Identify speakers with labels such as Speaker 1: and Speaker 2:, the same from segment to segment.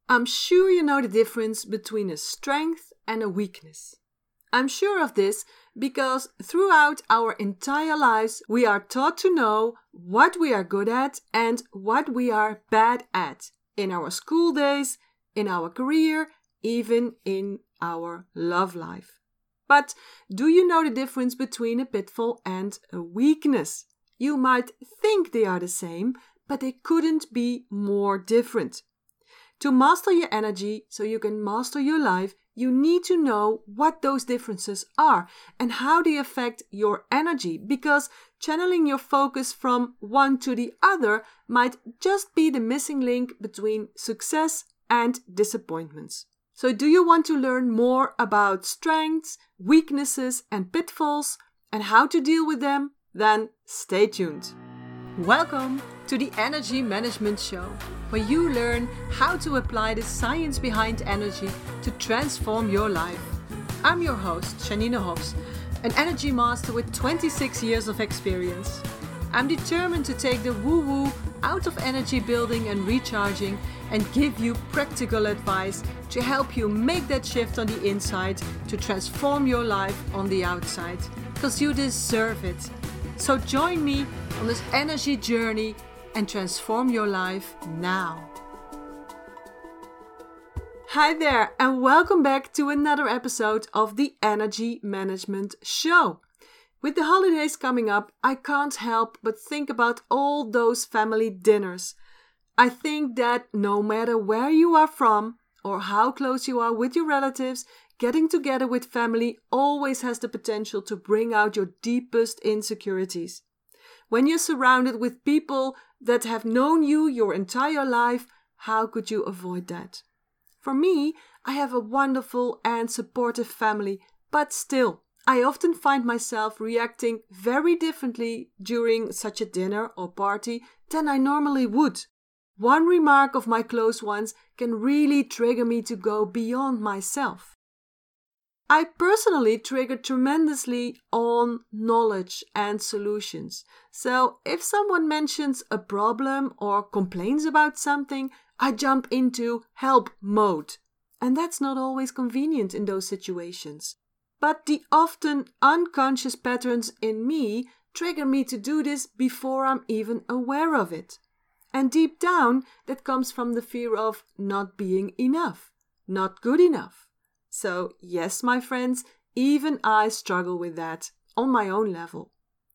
Speaker 1: I'm sure you know the difference between a strength and a weakness. I'm sure of this because throughout our entire lives we are taught to know what we are good at and what we are bad at in our school days, in our career, even in our love life. But do you know the difference between a pitfall and a weakness? You might think they are the same, but they couldn't be more different. To master your energy so you can master your life, you need to know what those differences are and how they affect your energy, because channeling your focus from one to the other might just be the missing link between success and disappointments. So do you want to learn more about strengths, weaknesses and pitfalls and how to deal with them? Then stay tuned. Welcome to the Energy Management Show, where you learn how to apply the science behind energy to transform your life. I'm your host, Janine Hofs, an energy master with 26 years of experience. I'm determined to take the woo-woo out of energy building and recharging and give you practical advice to help you make that shift on the inside to transform your life on the outside, because you deserve it. So join me on this energy journey and transform your life now. Hi there, and welcome back to another episode of the Energy Management Show. With the holidays coming up, I can't help but think about all those family dinners. I think that no matter where you are from or how close you are with your relatives, getting together with family always has the potential to bring out your deepest insecurities. When you're surrounded with people that have known you your entire life, how could you avoid that? For me, I have a wonderful and supportive family, but still, I often find myself reacting very differently during such a dinner or party than I normally would. One remark of my close ones can really trigger me to go beyond myself. I personally trigger tremendously on knowledge and solutions. So if someone mentions a problem or complains about something, I jump into help mode. And that's not always convenient in those situations. But the often unconscious patterns in me trigger me to do this before I'm even aware of it. And deep down, that comes from the fear of not being enough, not good enough. So yes, my friends, even I struggle with that on my own level.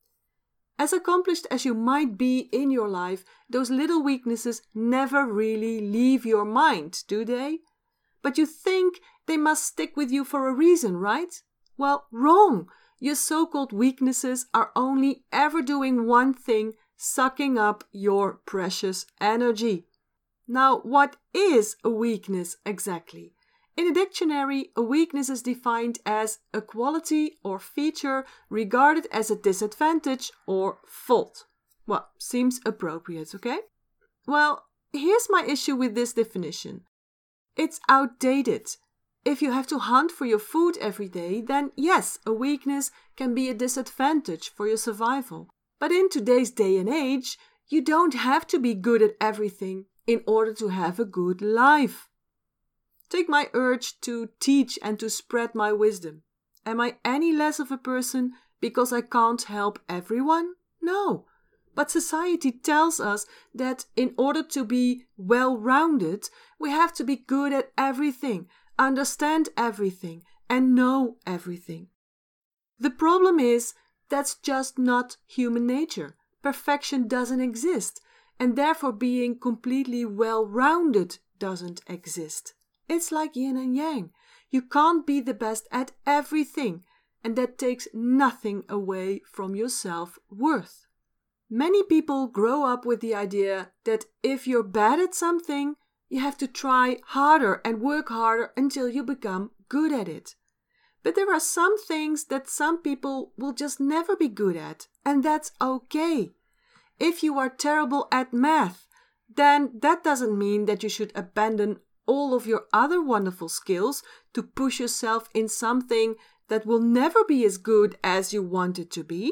Speaker 1: As accomplished as you might be in your life, those little weaknesses never really leave your mind, do they? But you think they must stick with you for a reason, right? Well, wrong. Your so-called weaknesses are only ever doing one thing, sucking up your precious energy. Now, what is a weakness exactly? In a dictionary, a weakness is defined as a quality or feature regarded as a disadvantage or fault. Well, seems appropriate, okay? Well, here's my issue with this definition. It's outdated. If you have to hunt for your food every day, then yes, a weakness can be a disadvantage for your survival. But in today's day and age, you don't have to be good at everything in order to have a good life. Take my urge to teach and to spread my wisdom. Am I any less of a person because I can't help everyone? No. But society tells us that in order to be well-rounded, we have to be good at everything, understand everything, and know everything. The problem is, that's just not human nature. Perfection doesn't exist, and therefore being completely well-rounded doesn't exist. It's like yin and yang. You can't be the best at everything, and that takes nothing away from your self-worth. Many people grow up with the idea that if you're bad at something, you have to try harder and work harder until you become good at it. But there are some things that some people will just never be good at, and that's okay. If you are terrible at math, then that doesn't mean that you should abandon all of your other wonderful skills to push yourself in something that will never be as good as you want it to be.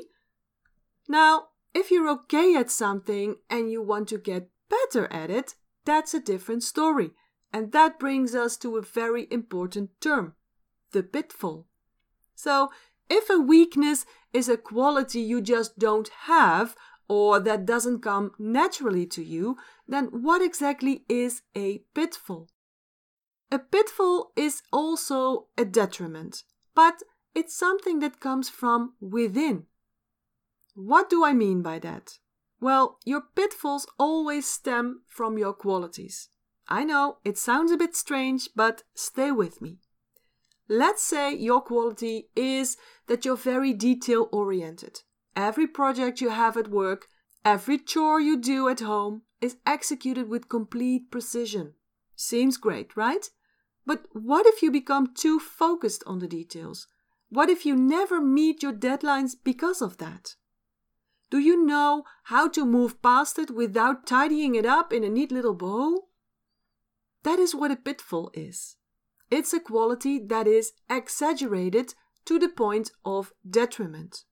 Speaker 1: Now, if you're okay at something and you want to get better at it, that's a different story. And that brings us to a very important term, the pitfall. So, if a weakness is a quality you just don't have, or that doesn't come naturally to you, then what exactly is a pitfall? A pitfall is also a detriment, but it's something that comes from within. What do I mean by that? Well, your pitfalls always stem from your qualities. I know, it sounds a bit strange, but stay with me. Let's say your quality is that you're very detail-oriented. Every project you have at work, every chore you do at home is executed with complete precision. Seems great, right? But what if you become too focused on the details? What if you never meet your deadlines because of that? Do you know how to move past it without tidying it up in a neat little bow? That is what a pitfall is. It's a quality that is exaggerated to the point of detriment.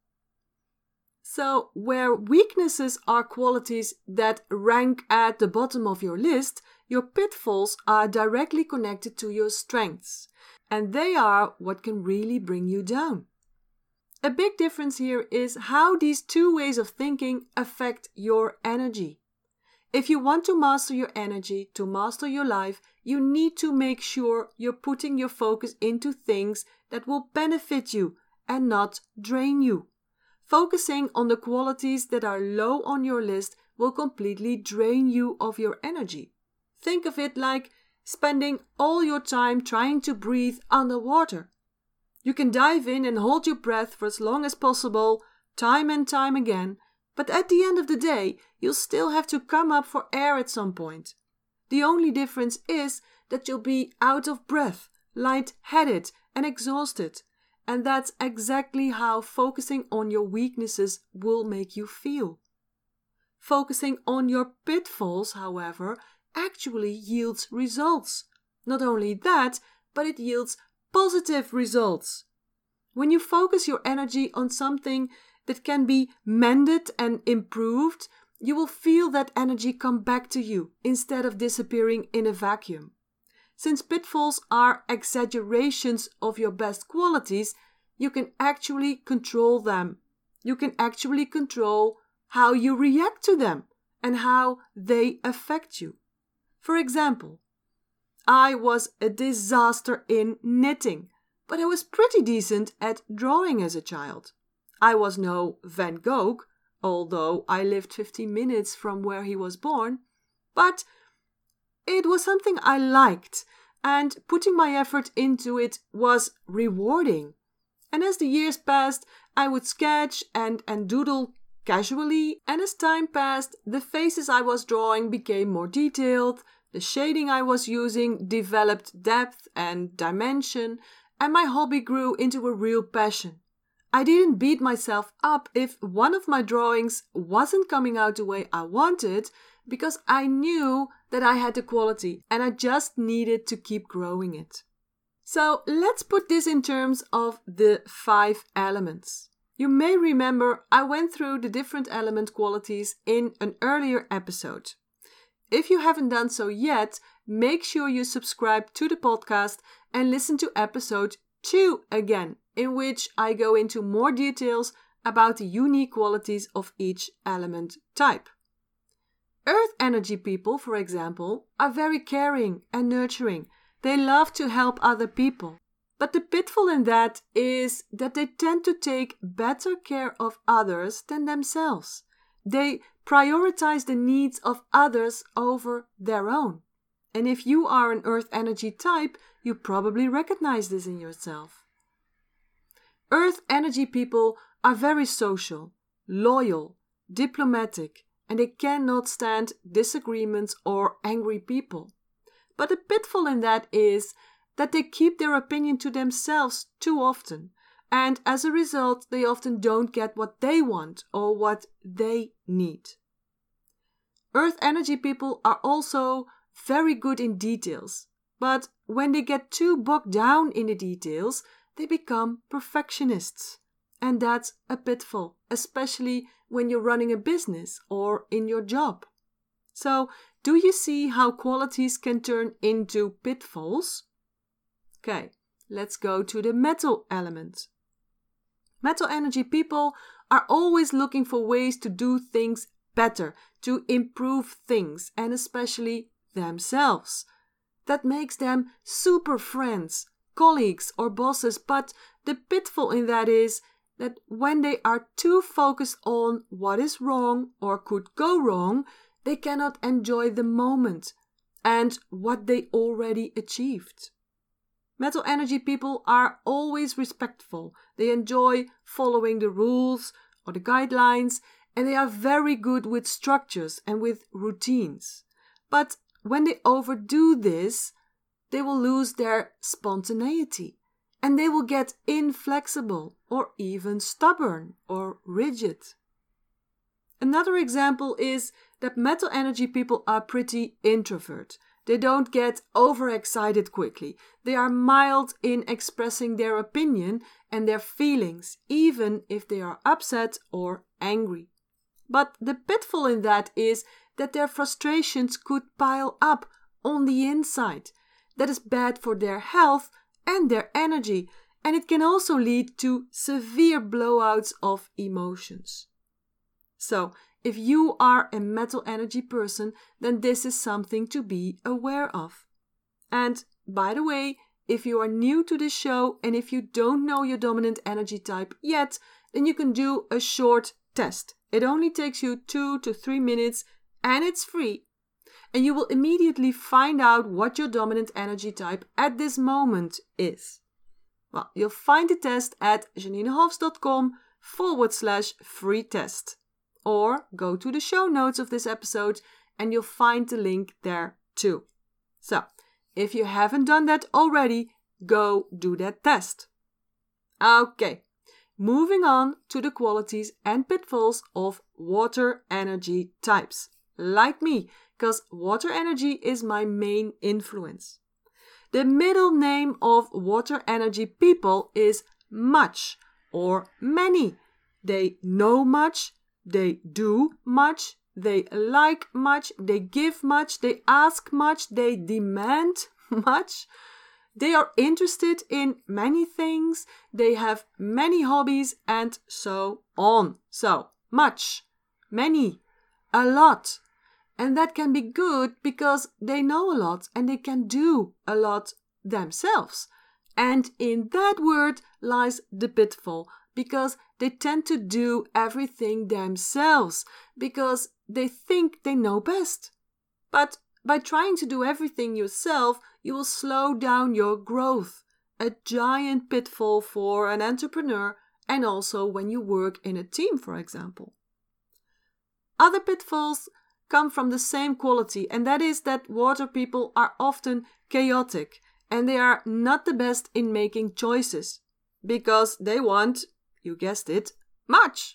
Speaker 1: So, where weaknesses are qualities that rank at the bottom of your list, your pitfalls are directly connected to your strengths, and they are what can really bring you down. A big difference here is how these two ways of thinking affect your energy. If you want to master your energy, to master your life, you need to make sure you're putting your focus into things that will benefit you and not drain you. Focusing on the qualities that are low on your list will completely drain you of your energy. Think of it like spending all your time trying to breathe underwater. You can dive in and hold your breath for as long as possible, time and time again, but at the end of the day, you'll still have to come up for air at some point. The only difference is that you'll be out of breath, light-headed, and exhausted. And that's exactly how focusing on your weaknesses will make you feel. Focusing on your pitfalls, however, actually yields results. Not only that, but it yields positive results. When you focus your energy on something that can be mended and improved, you will feel that energy come back to you instead of disappearing in a vacuum. Since pitfalls are exaggerations of your best qualities, you can actually control them. You can actually control how you react to them and how they affect you. For example, I was a disaster in knitting, but I was pretty decent at drawing as a child. I was no Van Gogh, although I lived 15 minutes from where he was born, but it was something I liked, and putting my effort into it was rewarding. And as the years passed, I would sketch and doodle casually, and as time passed, the faces I was drawing became more detailed, the shading I was using developed depth and dimension, and my hobby grew into a real passion. I didn't beat myself up if one of my drawings wasn't coming out the way I wanted, because I knew that I had the quality and I just needed to keep growing it. So let's put this in terms of the 5 elements. You may remember I went through the different element qualities in an earlier episode. If you haven't done so yet, make sure you subscribe to the podcast and listen to episode 2 again, in which I go into more details about the unique qualities of each element type. Earth energy people, for example, are very caring and nurturing. They love to help other people. But the pitfall in that is that they tend to take better care of others than themselves. They prioritize the needs of others over their own. And if you are an earth energy type, you probably recognize this in yourself. Earth energy people are very social, loyal, diplomatic, and they cannot stand disagreements or angry people. But the pitfall in that is that they keep their opinion to themselves too often, and as a result, they often don't get what they want or what they need. Earth energy people are also very good in details, but when they get too bogged down in the details, they become perfectionists. And that's a pitfall, especially when you're running a business or in your job. So Do you see how qualities can turn into pitfalls? Okay, let's go to the metal element. Metal energy people are always looking for ways to do things better, to improve things, and especially themselves. That makes them super friends, colleagues, or bosses, but the pitfall in that is that when they are too focused on what is wrong or could go wrong, they cannot enjoy the moment and what they already achieved. Metal energy people are always respectful. They enjoy following the rules or the guidelines, and they are very good with structures and with routines. But when they overdo this, they will lose their spontaneity, and they will get inflexible or even stubborn or rigid. Another example is that metal energy people are pretty introvert. They don't get overexcited quickly. They are mild in expressing their opinion and their feelings, even if they are upset or angry. But the pitfall in that is that their frustrations could pile up on the inside. That is bad for their health and their energy, and it can also lead to severe blowouts of emotions. So, if you are a metal energy person, then this is something to be aware of. And by the way, if you are new to this show and if you don't know your dominant energy type yet, then you can do a short test. It only takes you 2 to 3 minutes and it's free. And you will immediately find out what your dominant energy type at this moment is. Well, you'll find the test at janinehoffs.com/free test. Or go to the show notes of this episode and you'll find the link there too. So, if you haven't done that already, go do that test. Okay, moving on to the qualities and pitfalls of water energy types. Like me, because water energy is my main influence. The middle name of water energy people is much or many. They know much. They do much, they like much, they give much, they ask much, they demand much. They are interested in many things, they have many hobbies, and so on. So, much, many, a lot. And that can be good because they know a lot and they can do a lot themselves. And in that word lies the pitfall, because they tend to do everything themselves, because they think they know best. But by trying to do everything yourself, you will slow down your growth. A giant pitfall for an entrepreneur, and also when you work in a team, for example. Other pitfalls come from the same quality, and that is that water people are often chaotic, and they are not the best in making choices, because they want, you guessed it, much.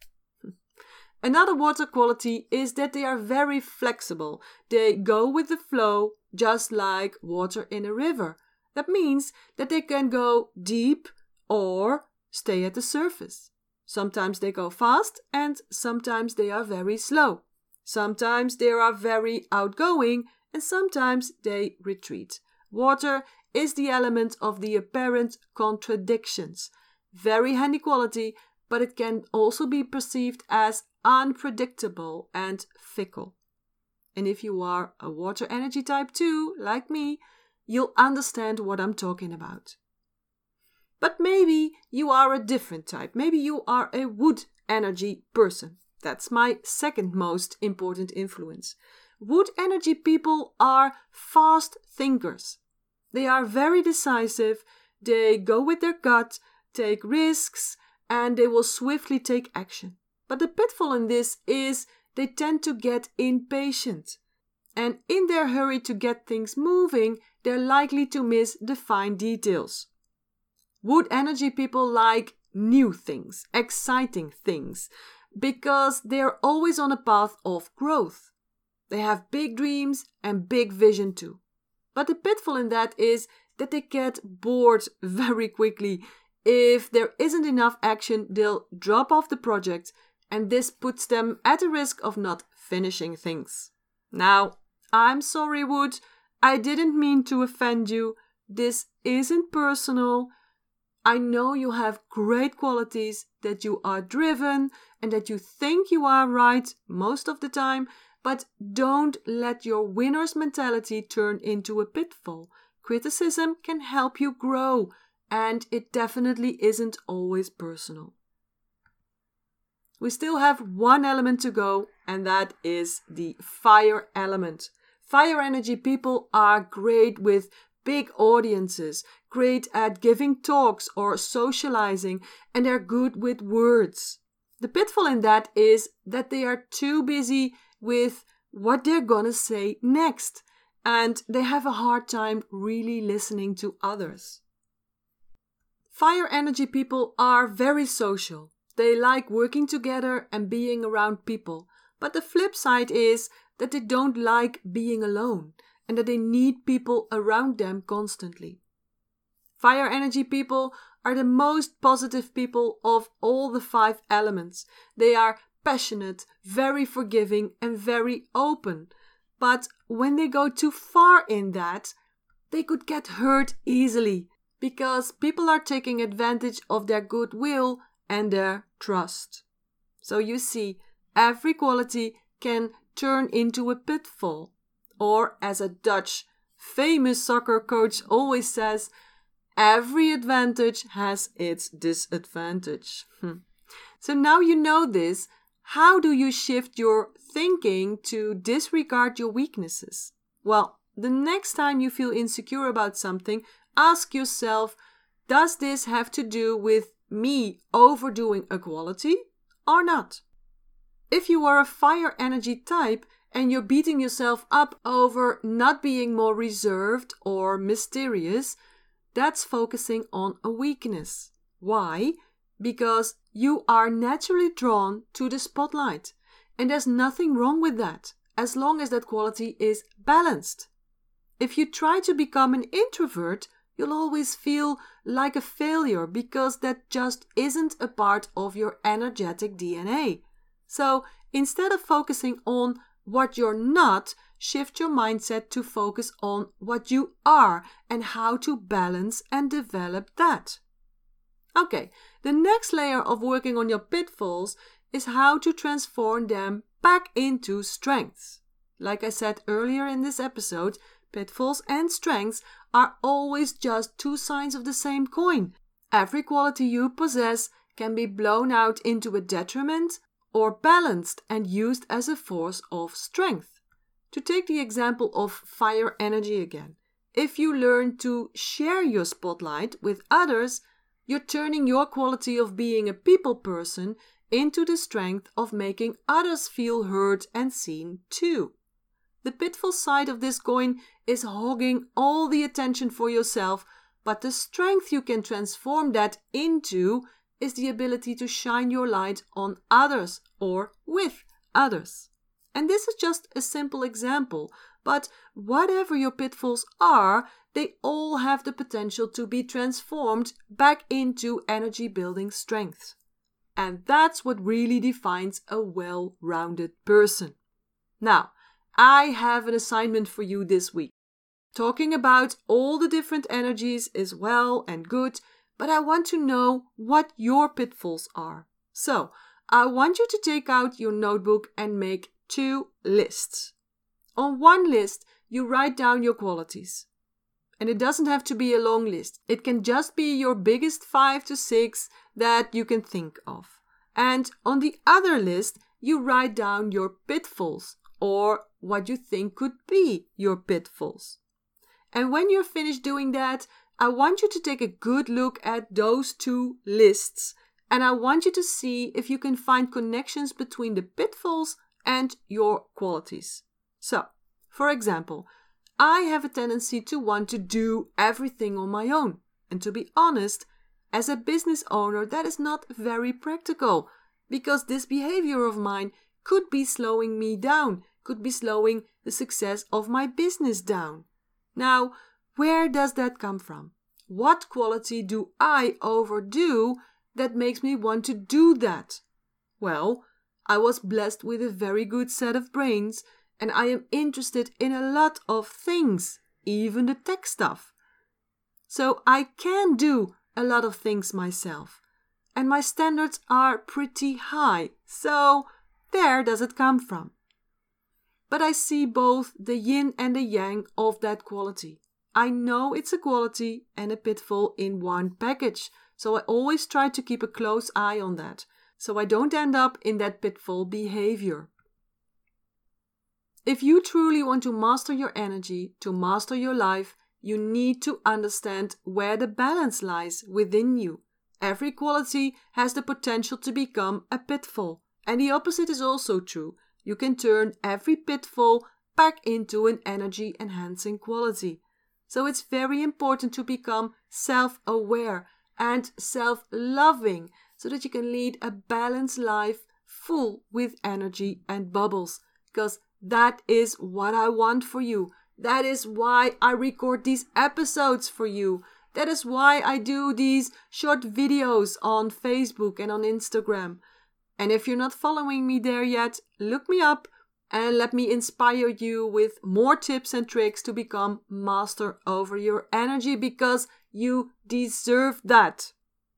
Speaker 1: Another water quality is that they are very flexible. They go with the flow, just like water in a river. That means that they can go deep or stay at the surface. Sometimes they go fast and sometimes they are very slow. Sometimes they are very outgoing and sometimes they retreat. Water is the element of the apparent contradictions. Very handy quality, but it can also be perceived as unpredictable and fickle. And if you are a water energy type too, like me, you'll understand what I'm talking about. But maybe you are a different type. Maybe you are a wood energy person. That's my second most important influence. Wood energy people are fast thinkers. They are very decisive, they go with their gut, take risks, and they will swiftly take action. But the pitfall in this is they tend to get impatient. And in their hurry to get things moving, they're likely to miss the fine details. Wood energy people like new things, exciting things, because they're always on a path of growth. They have big dreams and big vision too. But the pitfall in that is that they get bored very quickly. If there isn't enough action, they'll drop off the project, and this puts them at a risk of not finishing things. Now, I'm sorry, Wood. I didn't mean to offend you. This isn't personal. I know you have great qualities, that you are driven and that you think you are right most of the time, but don't let your winner's mentality turn into a pitfall. Criticism can help you grow, and it definitely isn't always personal. We still have one element to go, and that is the fire element. Fire energy people are great with big audiences, great at giving talks or socializing, and they're good with words. The pitfall in that is that they are too busy with what they're gonna say next, and they have a hard time really listening to others. Fire energy people are very social. They like working together and being around people. But the flip side is that they don't like being alone and that they need people around them constantly. Fire energy people are the most positive people of all the 5 elements. They are passionate, very forgiving, and very open. But when they go too far in that, they could get hurt easily because people are taking advantage of their goodwill and their trust. So you see, every quality can turn into a pitfall. Or, as a Dutch famous soccer coach always says, every advantage has its disadvantage. So now you know this, how do you shift your thinking to disregard your weaknesses? Well, the next time you feel insecure about something, ask yourself, does this have to do with me overdoing a quality or not? If you are a fire energy type and you're beating yourself up over not being more reserved or mysterious, that's focusing on a weakness. Why? Because you are naturally drawn to the spotlight. And there's nothing wrong with that, as long as that quality is balanced. If you try to become an introvert, you'll always feel like a failure because that just isn't a part of your energetic DNA. So instead of focusing on what you're not, shift your mindset to focus on what you are and how to balance and develop that. Okay, the next layer of working on your pitfalls is how to transform them back into strengths. Like I said earlier in this episode, pitfalls and strengths are always just 2 sides of the same coin. Every quality you possess can be blown out into a detriment or balanced and used as a force of strength. To take the example of fire energy again, if you learn to share your spotlight with others, you're turning your quality of being a people person into the strength of making others feel heard and seen too. The pitfall side of this coin is hogging all the attention for yourself, but the strength you can transform that into is the ability to shine your light on others or with others. And this is just a simple example, but whatever your pitfalls are, they all have the potential to be transformed back into energy-building strengths. And that's what really defines a well-rounded person. Now, I have an assignment for you this week. Talking about all the different energies is well and good, but I want to know what your pitfalls are. So, I want you to take out your notebook and make 2 lists. On one list, you write down your qualities. And it doesn't have to be a long list. It can just be your biggest 5 to 6 that you can think of. And on the other list, you write down your pitfalls or what you think could be your pitfalls. And when you're finished doing that, I want you to take a good look at those 2 lists. And I want you to see if you can find connections between the pitfalls and your qualities. So, for example, I have a tendency to want to do everything on my own. And to be honest, as a business owner, that is not very practical, because this behavior of mine could be slowing me down, could be slowing the success of my business down. Now, where does that come from? What quality do I overdo that makes me want to do that? Well, I was blessed with a very good set of brains, and I am interested in a lot of things, even the tech stuff. So I can do a lot of things myself, and my standards are pretty high, so where does it come from? But I see both the yin and the yang of that quality. I know it's a quality and a pitfall in one package, so I always try to keep a close eye on that, so I don't end up in that pitfall behavior. If you truly want to master your energy, to master your life, you need to understand where the balance lies within you. Every quality has the potential to become a pitfall, and the opposite is also true. You can turn every pitfall back into an energy-enhancing quality. So it's very important to become self-aware and self-loving so that you can lead a balanced life full with energy and bubbles. Because that is what I want for you. That is why I record these episodes for you. That is why I do these short videos on Facebook and on Instagram. And if you're not following me there yet, look me up and let me inspire you with more tips and tricks to become master over your energy, because you deserve that.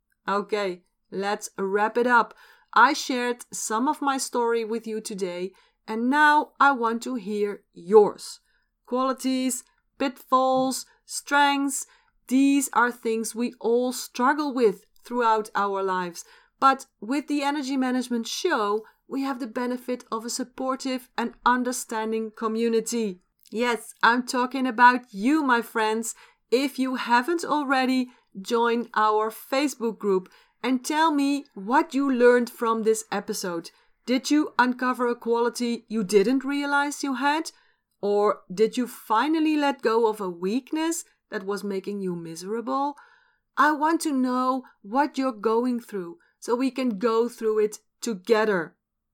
Speaker 1: Okay, let's wrap it up. I shared some of my story with you today, and now I want to hear yours. Qualities, pitfalls, strengths, these are things we all struggle with throughout our lives. But with the Energy Management Show, we have the benefit of a supportive and understanding community. Yes, I'm talking about you, my friends. If you haven't already, join our Facebook group and tell me what you learned from this episode. Did you uncover a quality you didn't realize you had? Or did you finally let go of a weakness that was making you miserable? I want to know what you're going through so we can go through it together.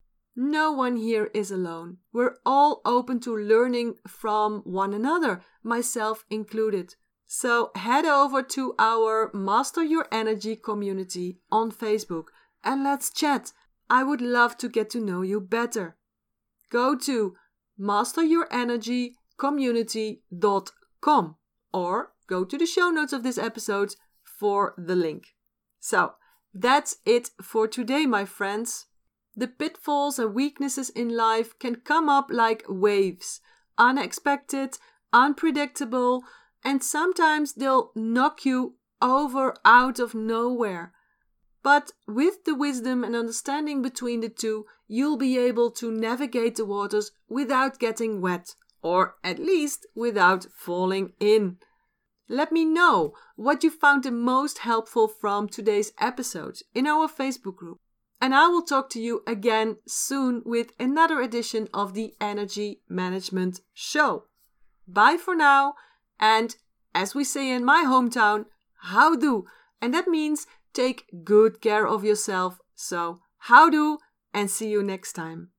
Speaker 1: No one here is alone. We're all open to learning from one another, myself included. So head over to our Master Your Energy community on Facebook and let's chat. I would love to get to know you better. Go to masteryourenergycommunity.com or go to the show notes of this episode for the link. So that's it for today, my friends. The pitfalls and weaknesses in life can come up like waves, unexpected, unpredictable, and sometimes they'll knock you over out of nowhere. But with the wisdom and understanding between the two, you'll be able to navigate the waters without getting wet, or at least without falling in. Let me know what you found the most helpful from today's episode in our Facebook group. And I will talk to you again soon with another edition of the Energy Management Show. Bye for now, and as we say in my hometown, houdoe. And that means take good care of yourself. So houdoe, and see you next time.